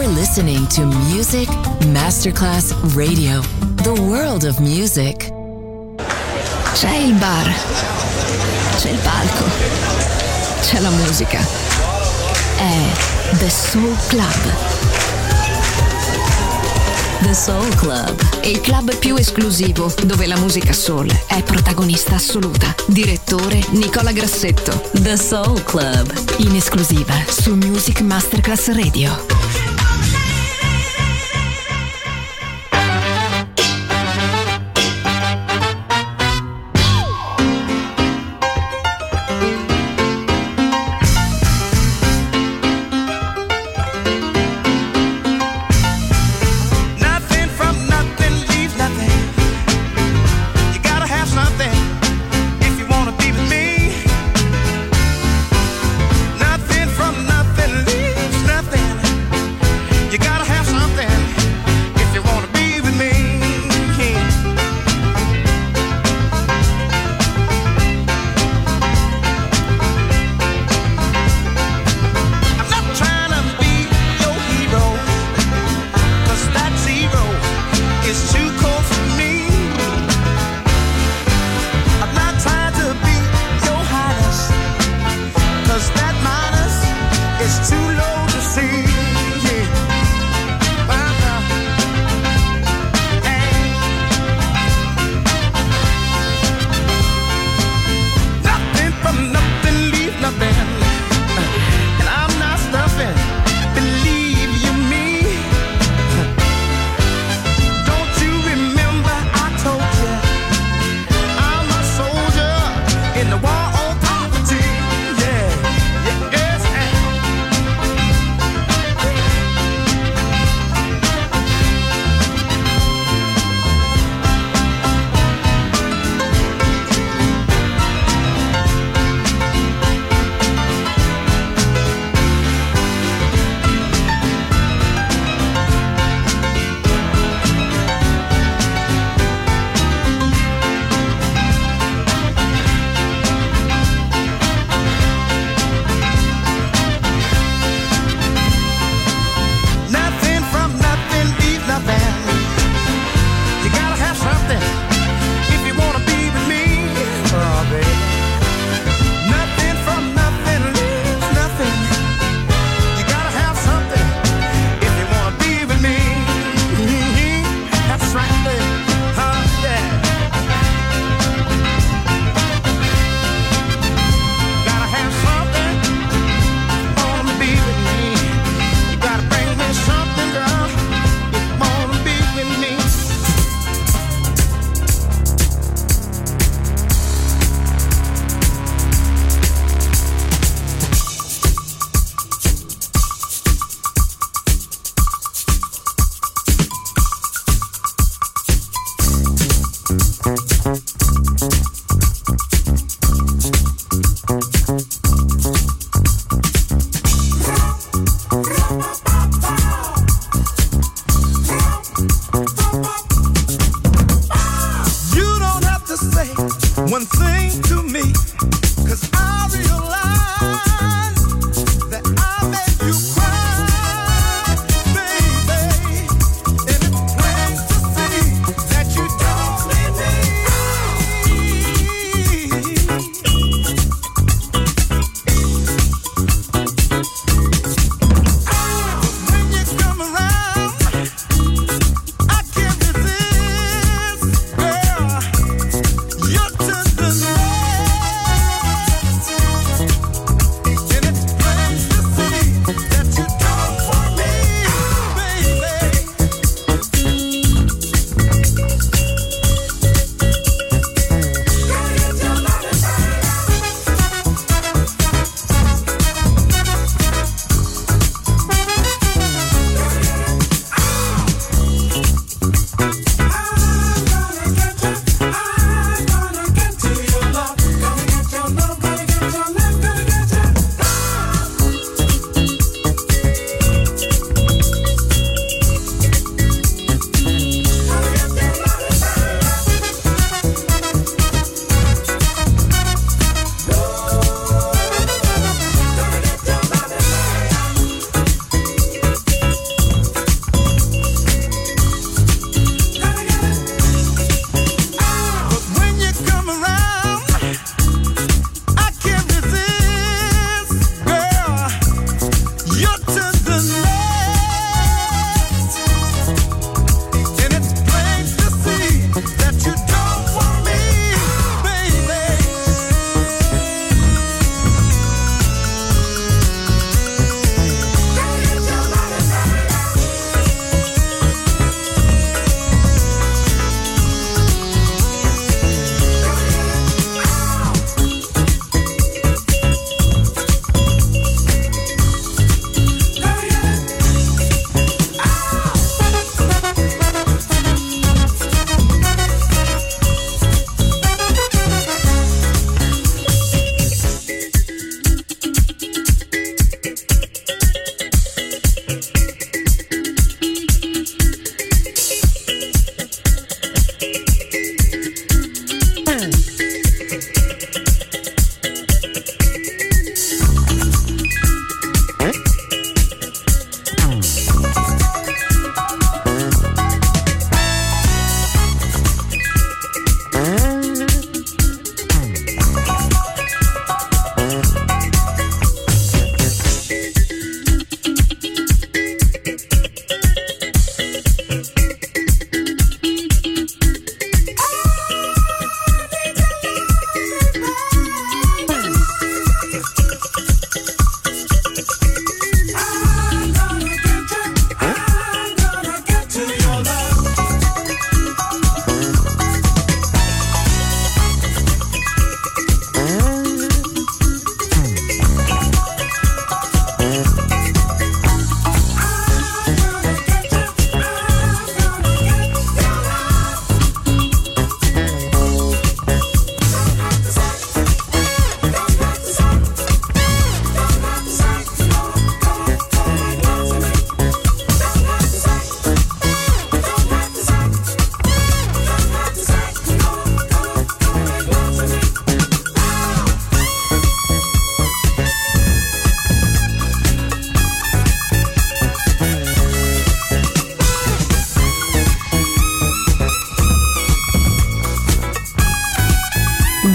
You're listening to Music Masterclass Radio, the world of music. C'è il bar, c'è il palco, c'è la musica. È The Soul Club. The Soul Club, Il club più esclusivo dove la musica soul è protagonista assoluta. Direttore Nicola Grassetto. The Soul Club, In esclusiva su Music Masterclass Radio. Nothing from nothing leaves nothing.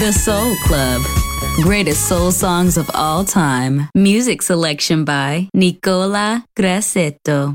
The Soul Club. Greatest soul songs of all time. Music selection by Nicola Grassetto.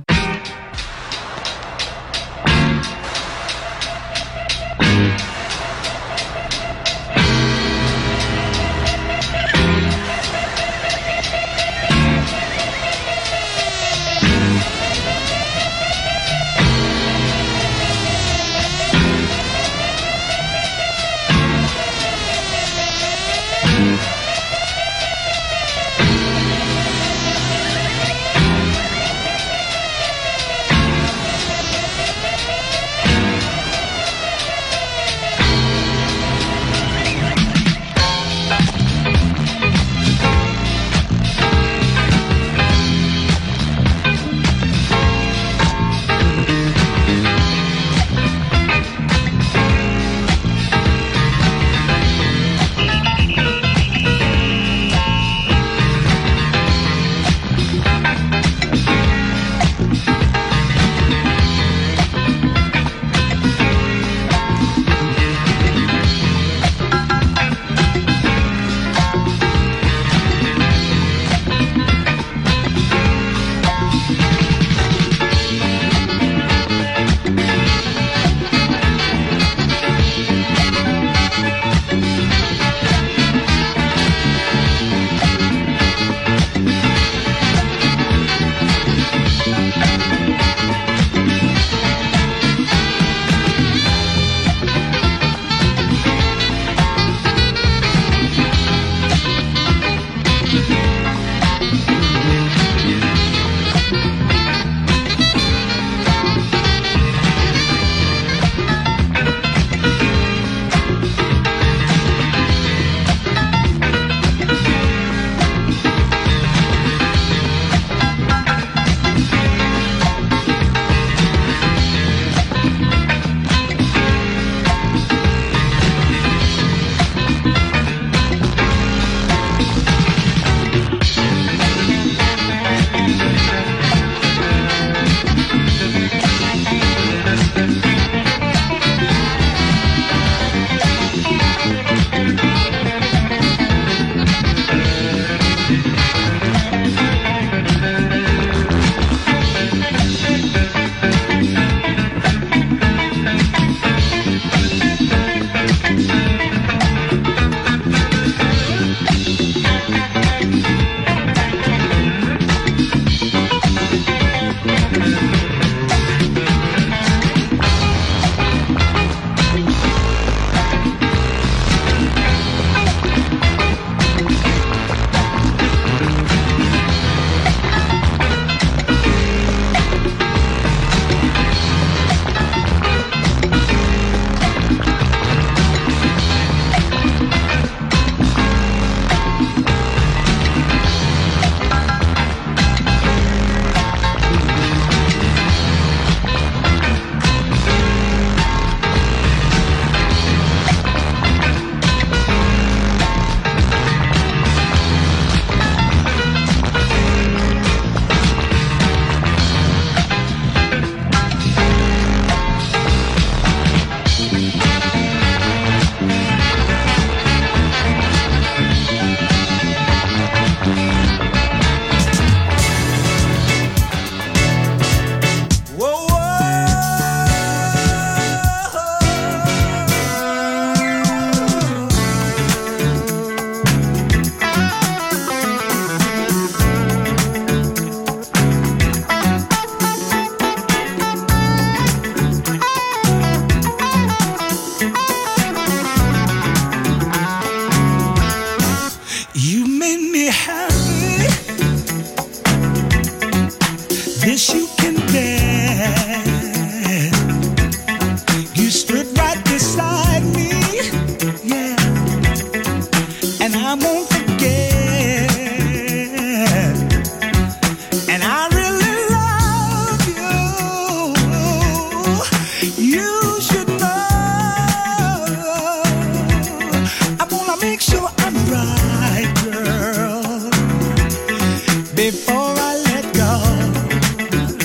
Before I let go,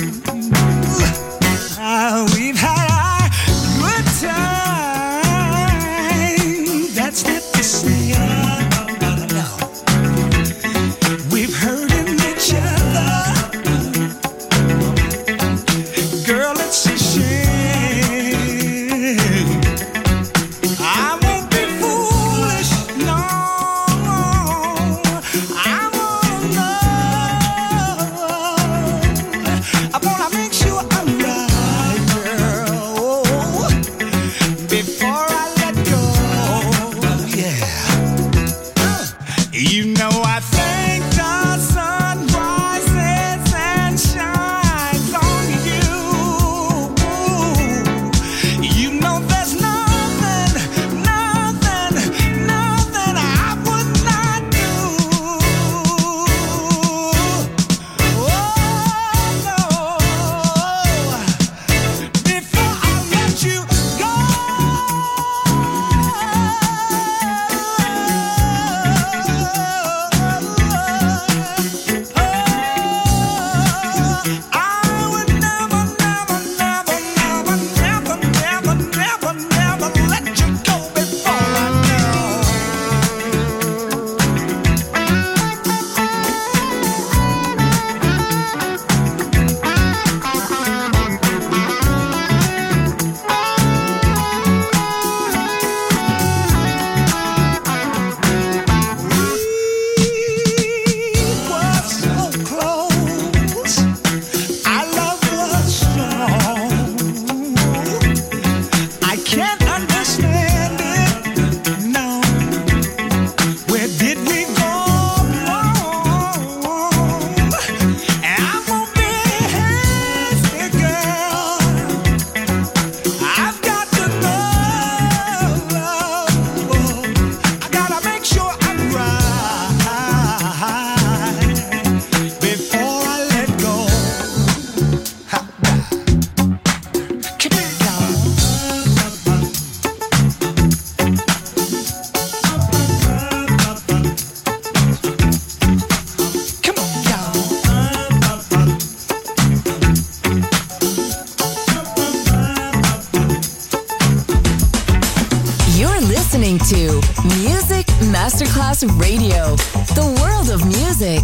to Music Masterclass Radio, the world of music.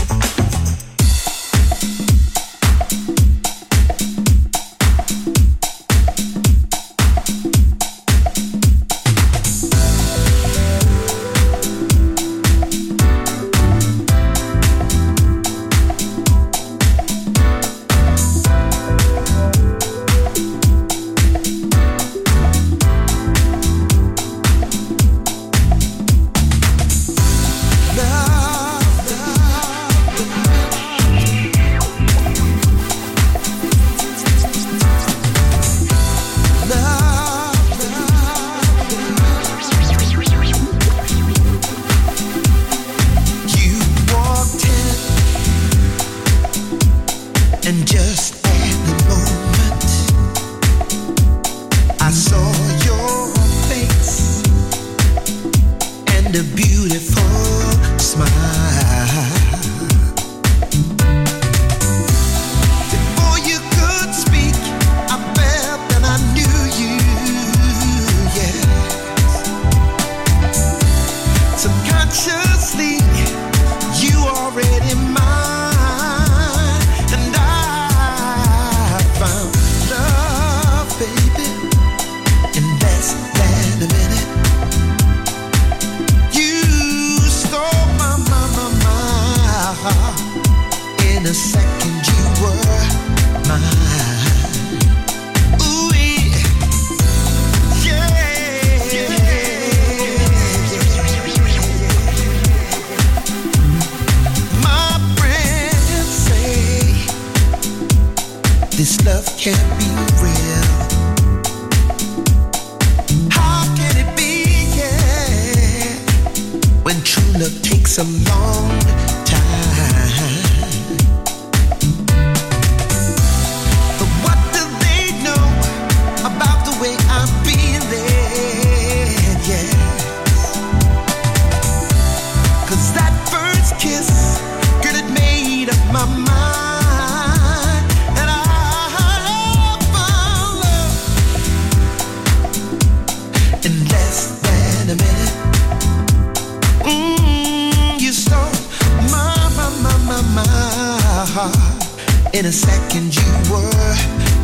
In a second you were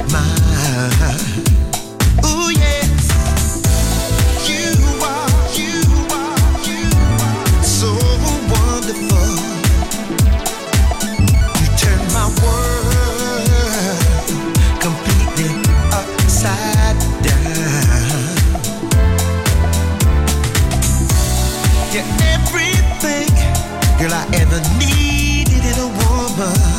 mine. Ooh yes, you are so wonderful. You turned my world completely upside down. You're everything, girl, I ever needed in a woman.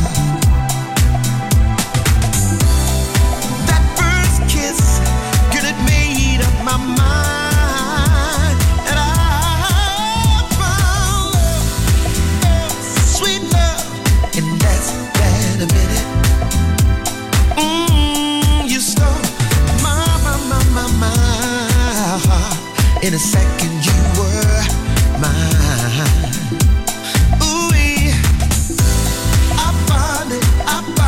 My mind, and I found love, sweet love, in less than a minute. You stole my heart. In a second you were mine. Ooh, I found it.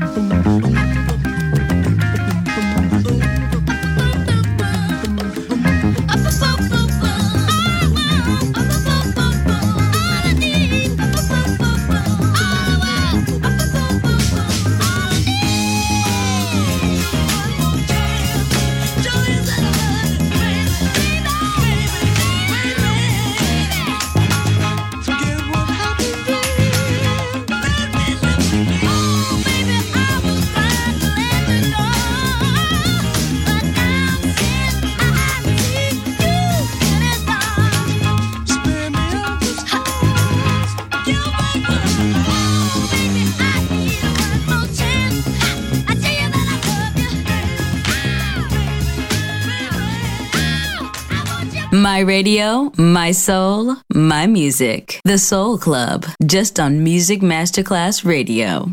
My radio, my soul, my music. The Soul Club, just on Music Masterclass Radio.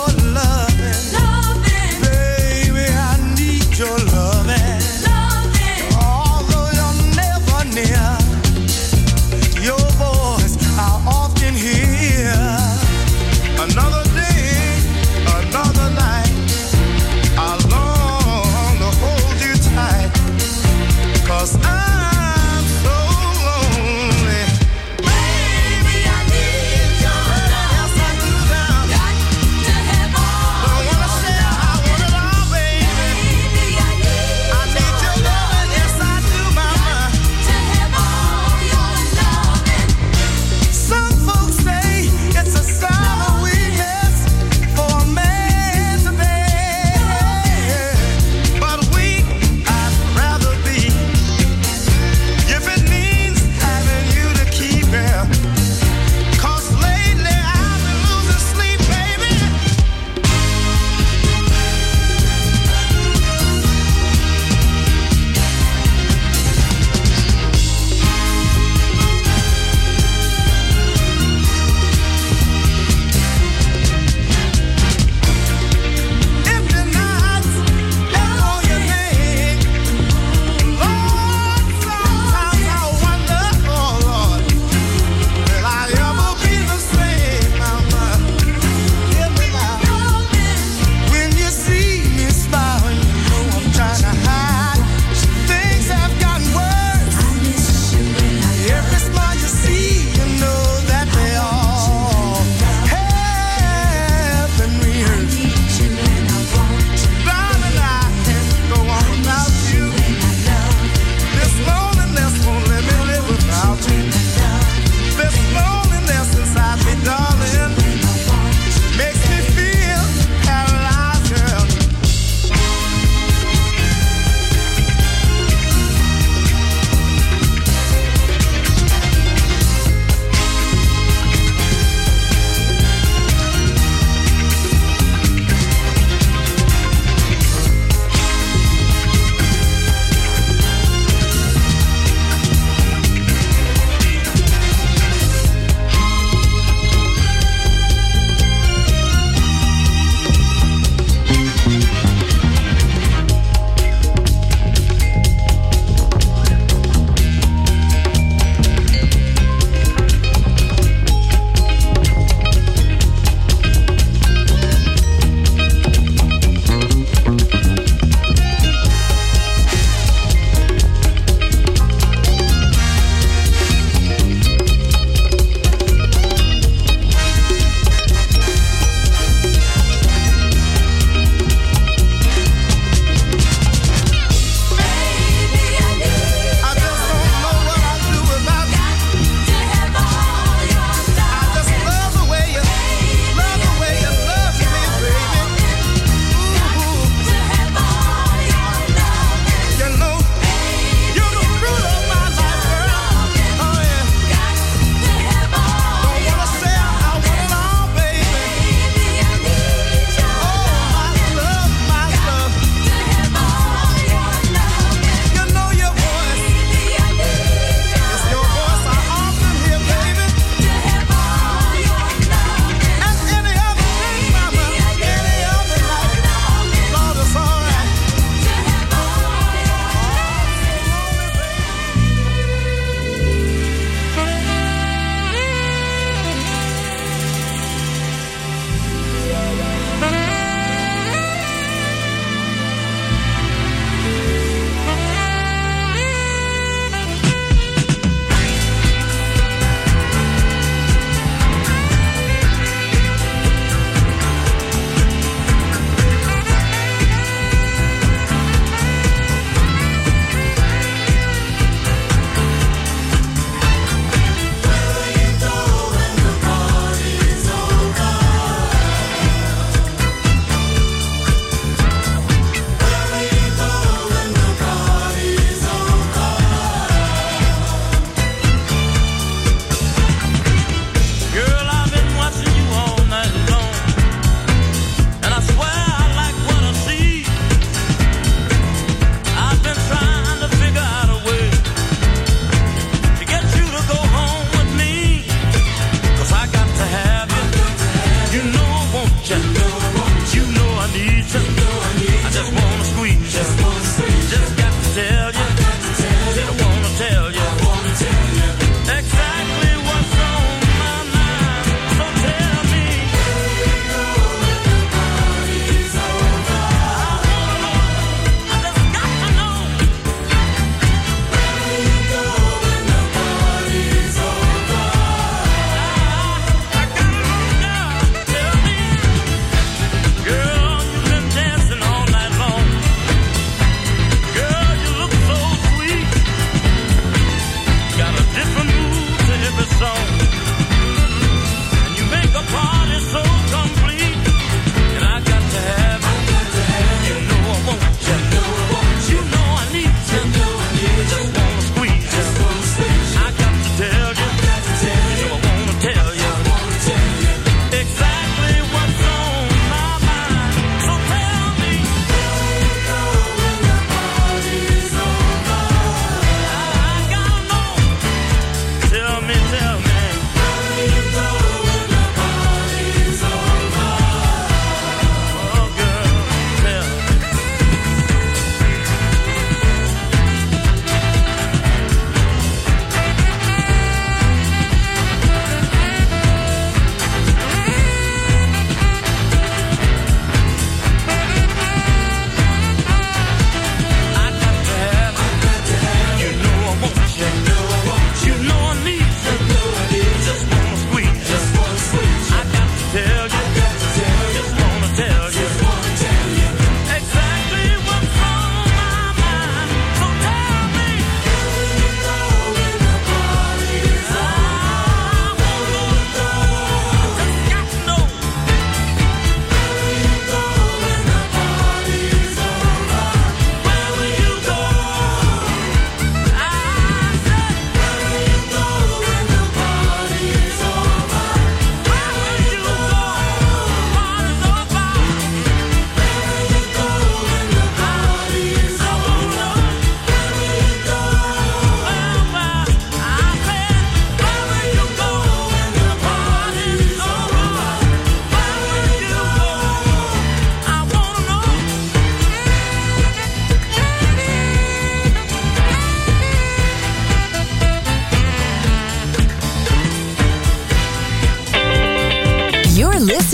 Your loving.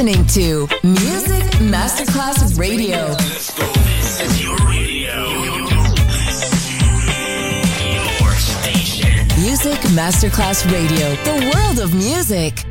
listening to Music Masterclass Radio. Let's go. This is your radio. Your station. Music Masterclass Radio. The world of music.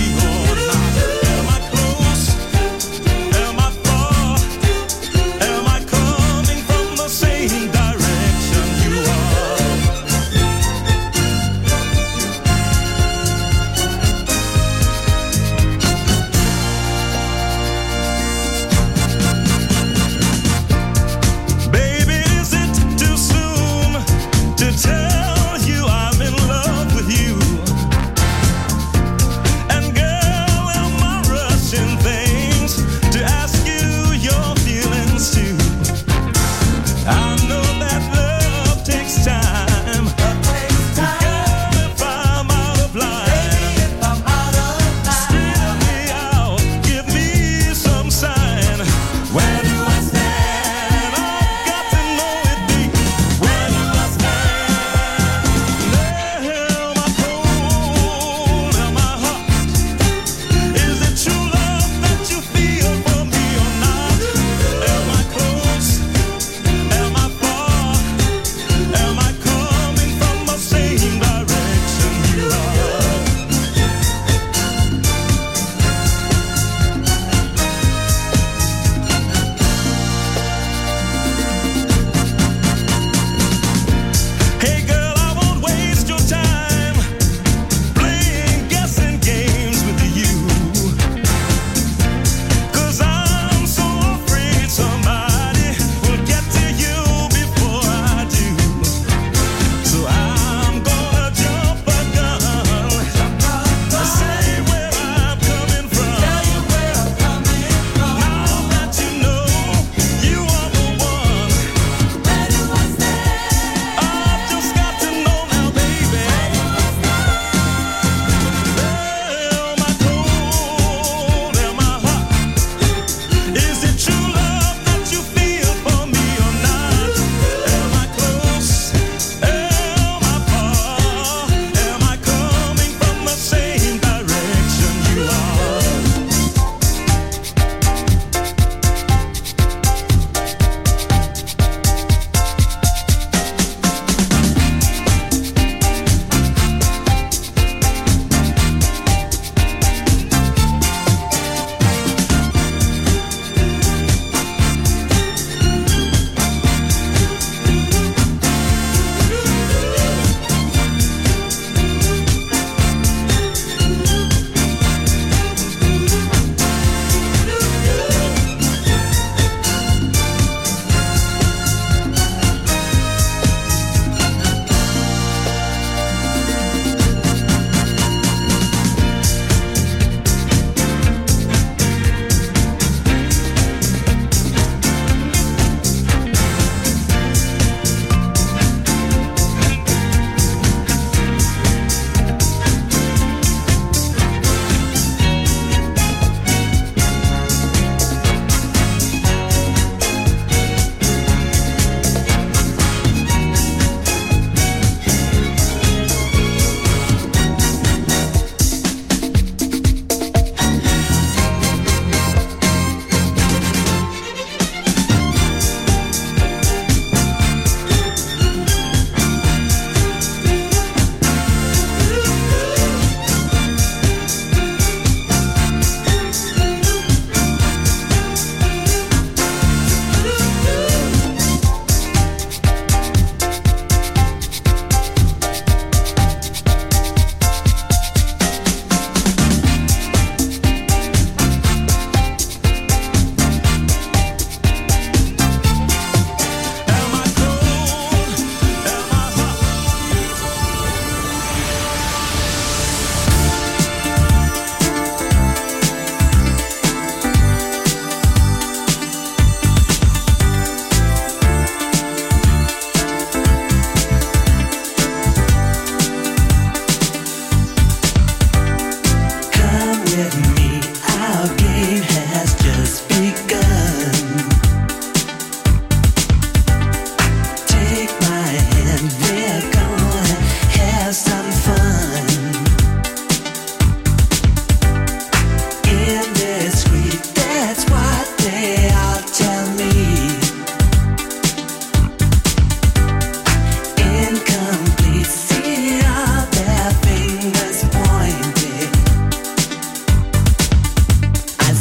Am I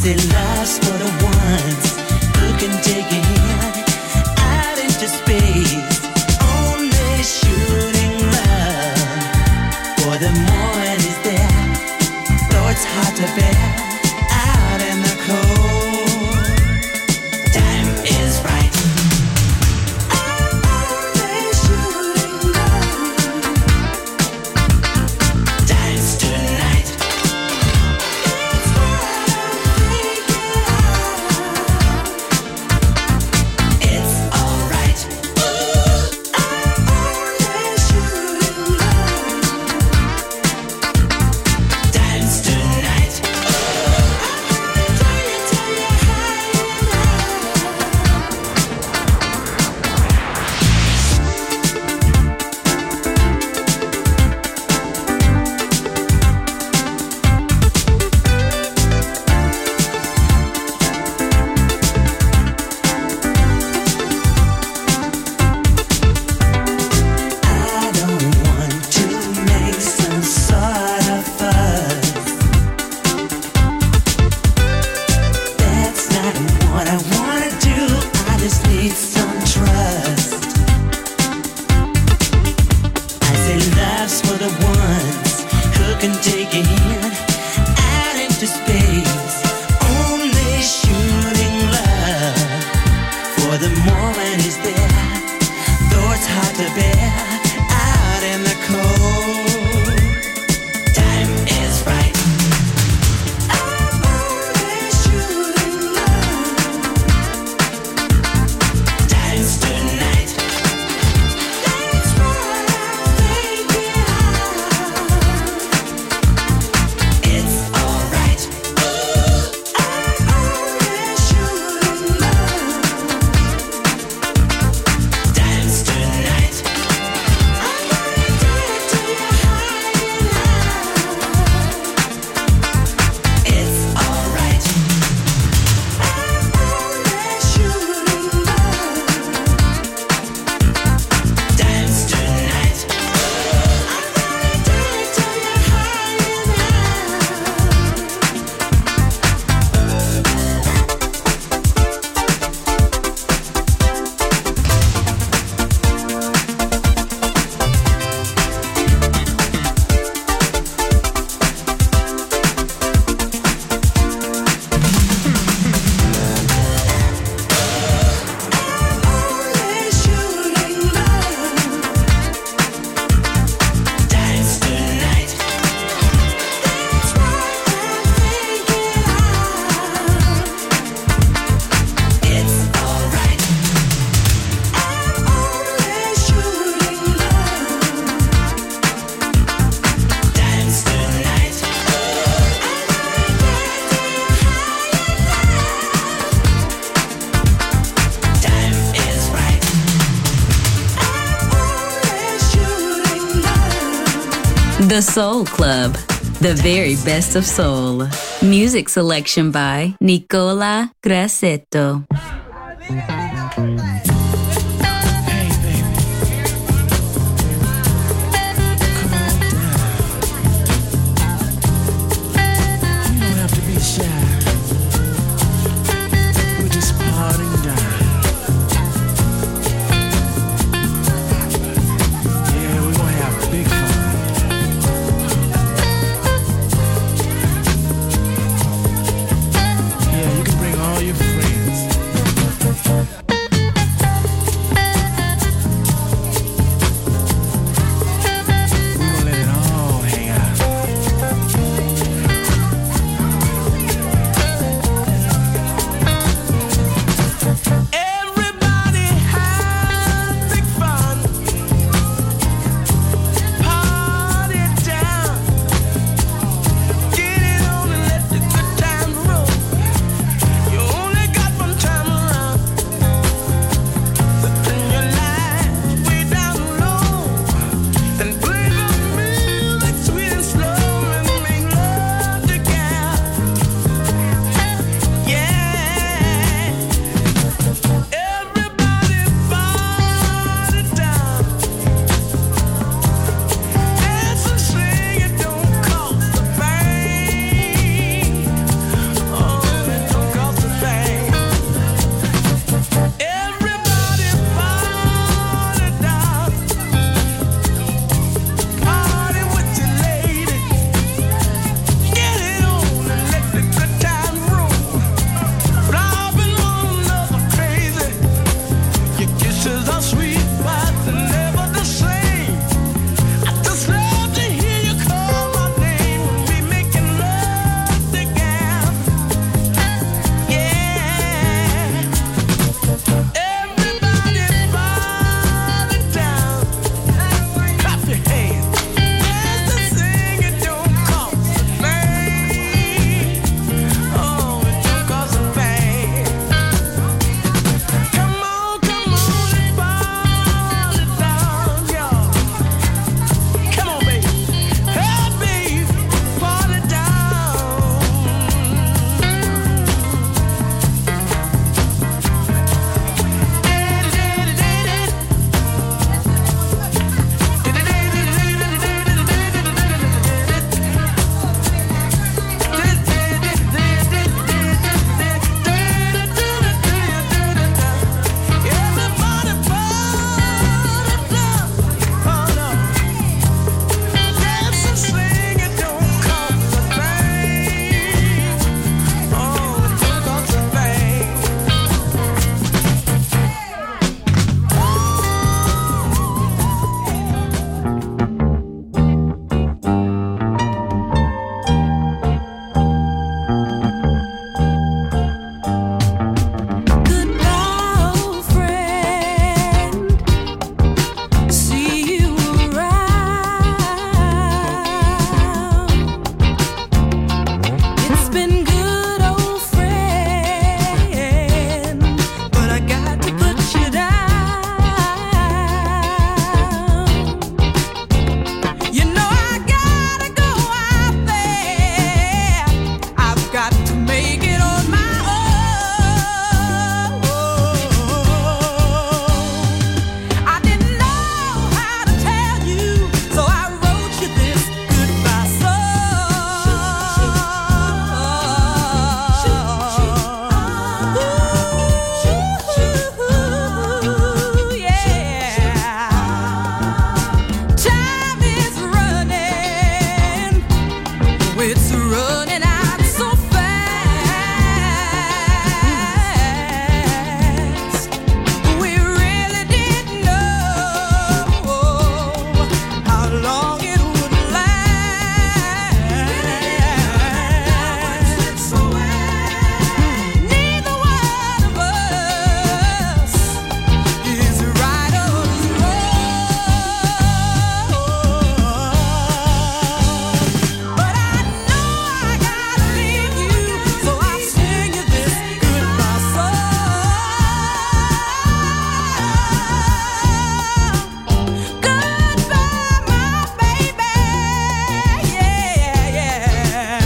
said love's for the ones who can take it out into space. Only shooting love for the morning is there, though it's hard to bear out in the cold. Time is right. I'm only shooting love. Time's tonight. It's what I'm thinking of. It's alright. I'm only shooting love. Time's tonight. I'm gonna tell you how you I don't want to make some sort of fuss. That's not what I wanna do. I just need some trust. I say love's for the ones who can take it out into space. Only shooting love for the moment is there, though it's hard to bear out in the cold. Time is right. I'm only shooting love. Time's tonight. That's what I'm thinking of. It's alright. I'm only shooting love. Time's tonight. I'm gonna tell you how you love. It's alright. I'm only shooting love. Time's tonight. I'm gonna tell you how you only shooting love. Time's tonight. That's what I'm thinking of. It's alright. I'm only shooting love. Time's tonight. I'm gonna tell you how you love. Time is right. I'm only shooting love. The Soul Club, the very best of soul. Music selection by Nicola Grassetto. Hey, baby. Calm down. You don't have to be shy. We're just partying down. Yeah, we're gonna have big fun. Yeah, you can bring all your friends. it's running out so fast. We really didn't know how long it would last. Neither one of us is right or wrong. But I know I gotta leave you, so I'll sing you this goodbye song. Goodbye, my baby. Yeah, yeah.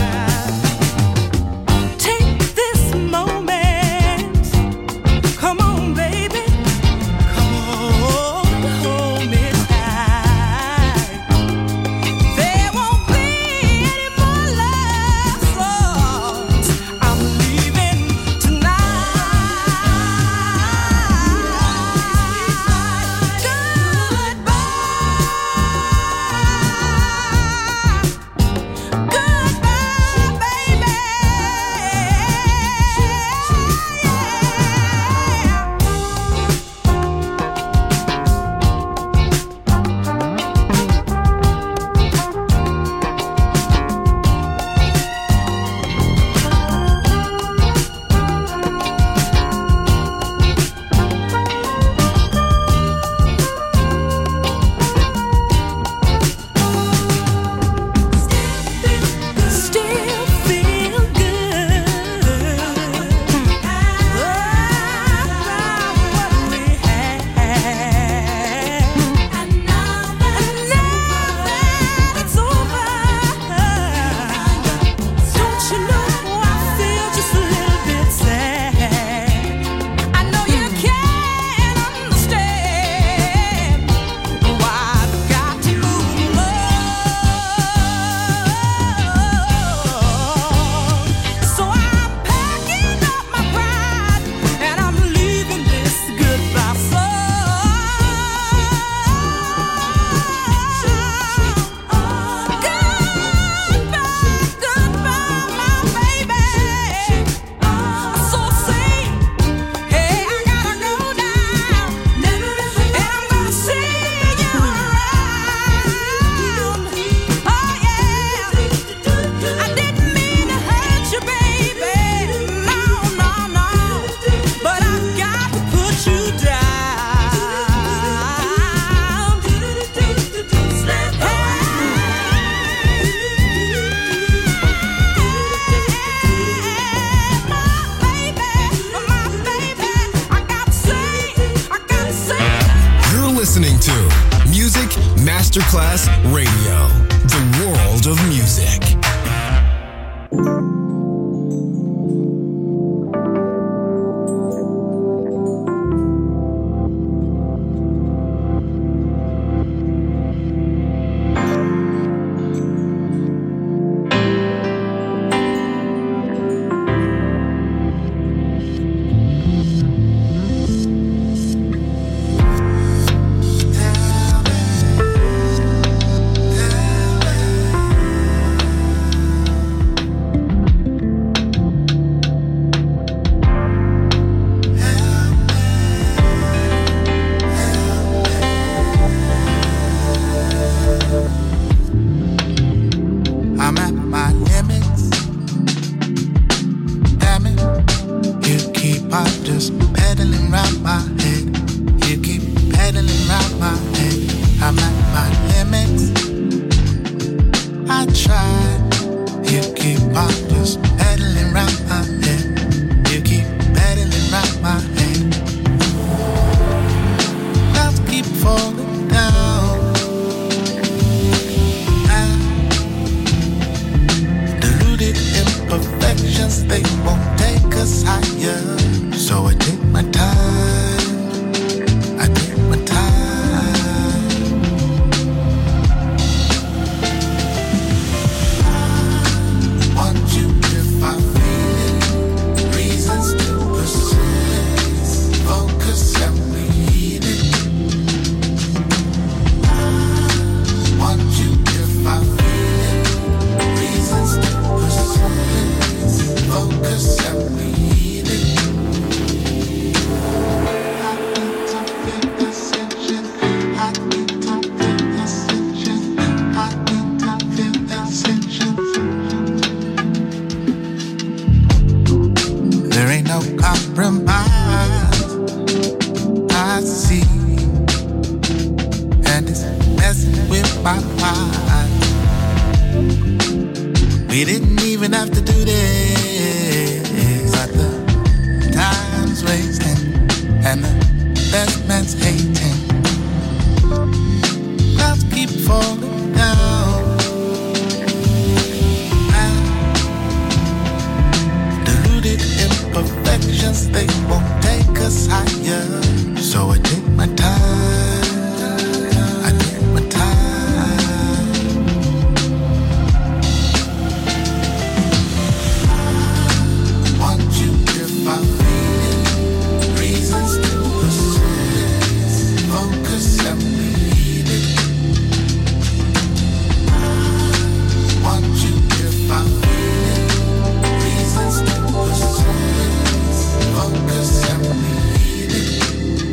Take this moment. Come on, baby. Come on, hold me tight. There won't be any more love songs. I'm leaving tonight. Goodbye, baby. Still feel good about what we had. And now that it's over, don't you know I feel just a little bit sad. I know you can't understand why I've got to move on. So I'm packing up my pride and I'm leaving this goodbye song. Goodbye, my baby. So say, hey, I gotta go now, and I'm gonna see you around. Oh yeah, I didn't mean to hurt you, baby. No, no, no. But I've got to put you down. My baby, I gotta say. You're listening to Music Masterclass Radio, the world of music. I'm at my limits. Damn it, you keep on just pedaling round my head. You keep pedaling round my head. I'm at my limits. I tried. You keep on just pedaling round my head. You keep pedaling round my head. Clouds keep falling down. Deluded imperfections, they won't take us higher. So I take my time. I take my time. I want you if I feel it. Reasons to persist. Focus and read it. I want you if I feel it. Reasons to We didn't even have to do this, but the time's wasting and the best man's hating. Clouds keep falling down. Deluded imperfections, they won't take us higher. So I take my time. I take my time. Want you if I'm feeling reasons to persist. Focus and read it. Want you if I'm feeling reasons to persist. Focus and read it.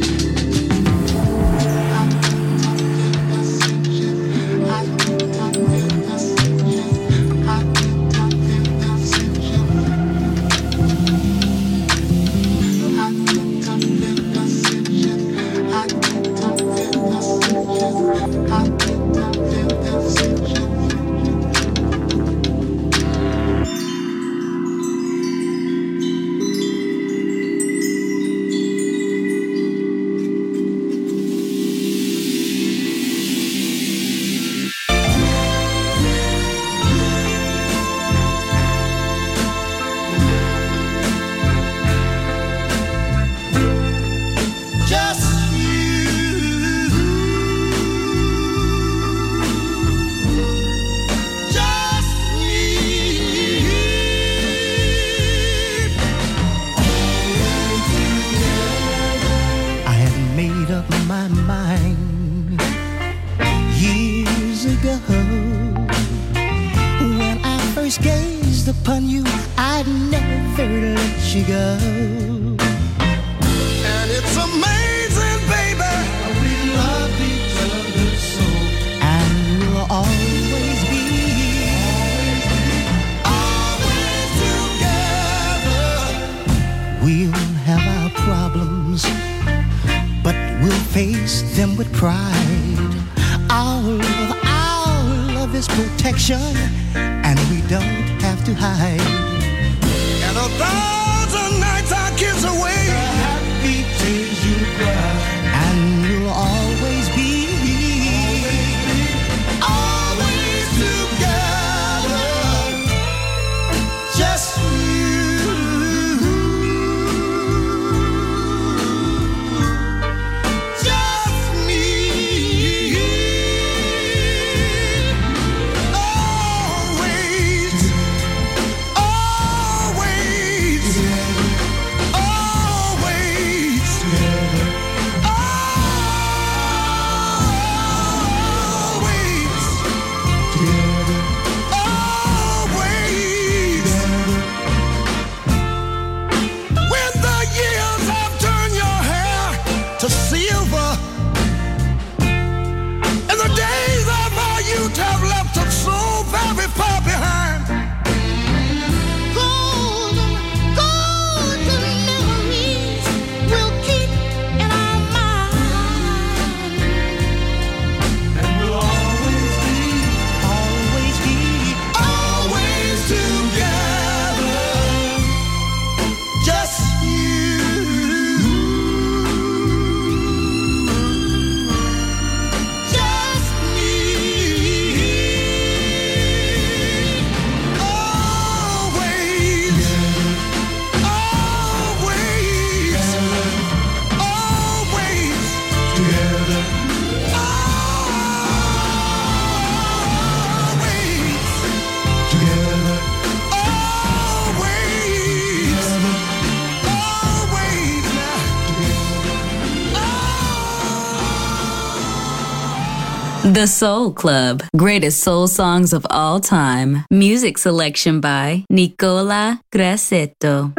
The Soul Club, greatest soul songs of all time. Music selection by Nicola Grassetto.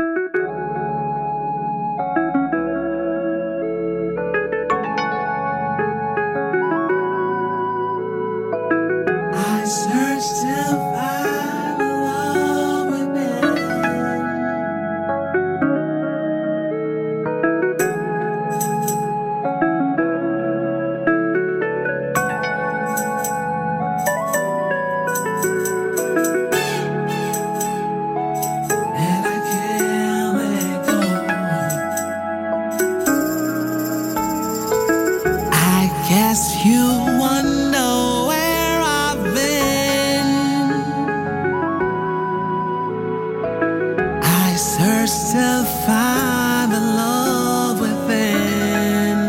I searched till find love within. search to find the love within.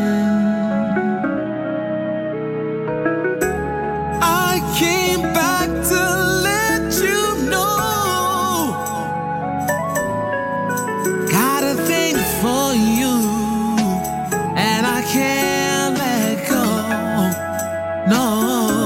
I came back to let you know. Got a thing for you, and I can't let go. No.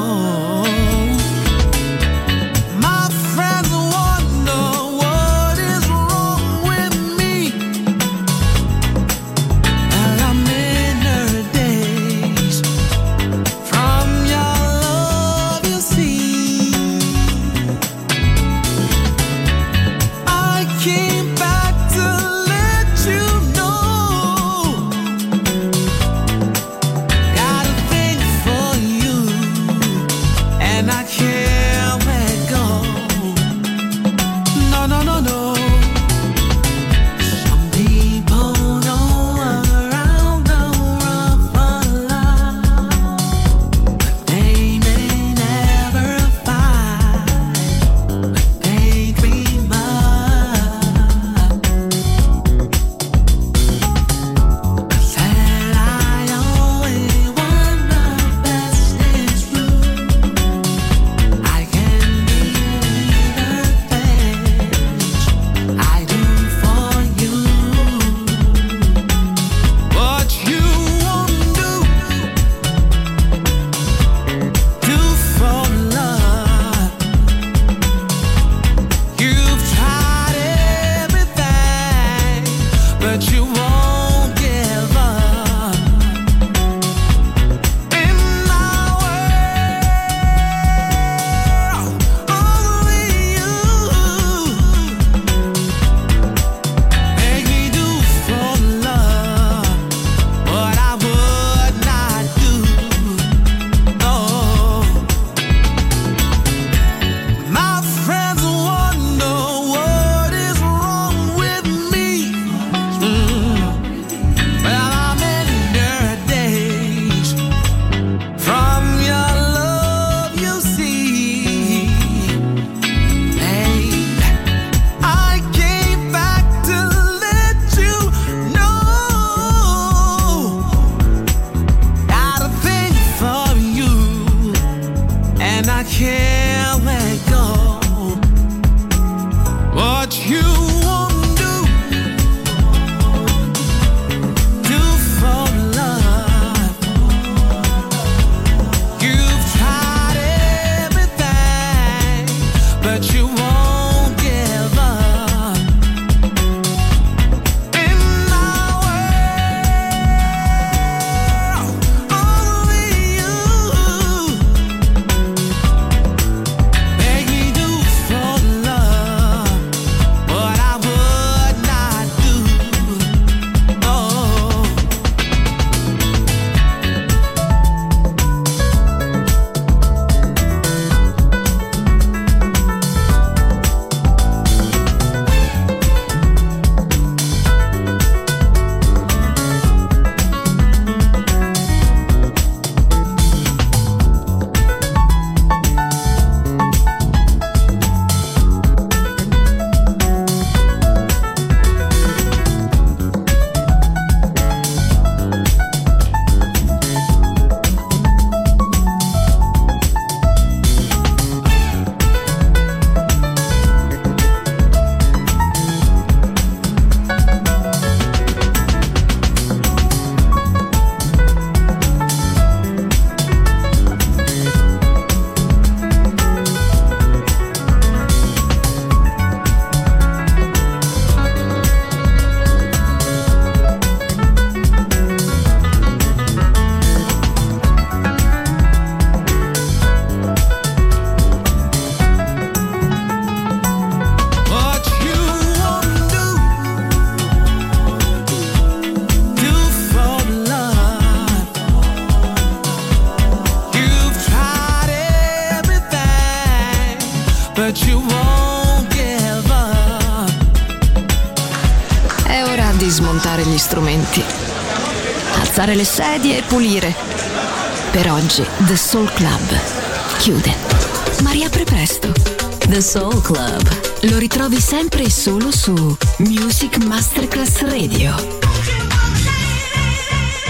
smontare gli strumenti, alzare le sedie e pulire. Per oggi The Soul Club chiude, ma riapre presto. The Soul Club. Lo ritrovi sempre e solo su Music Masterclass Radio.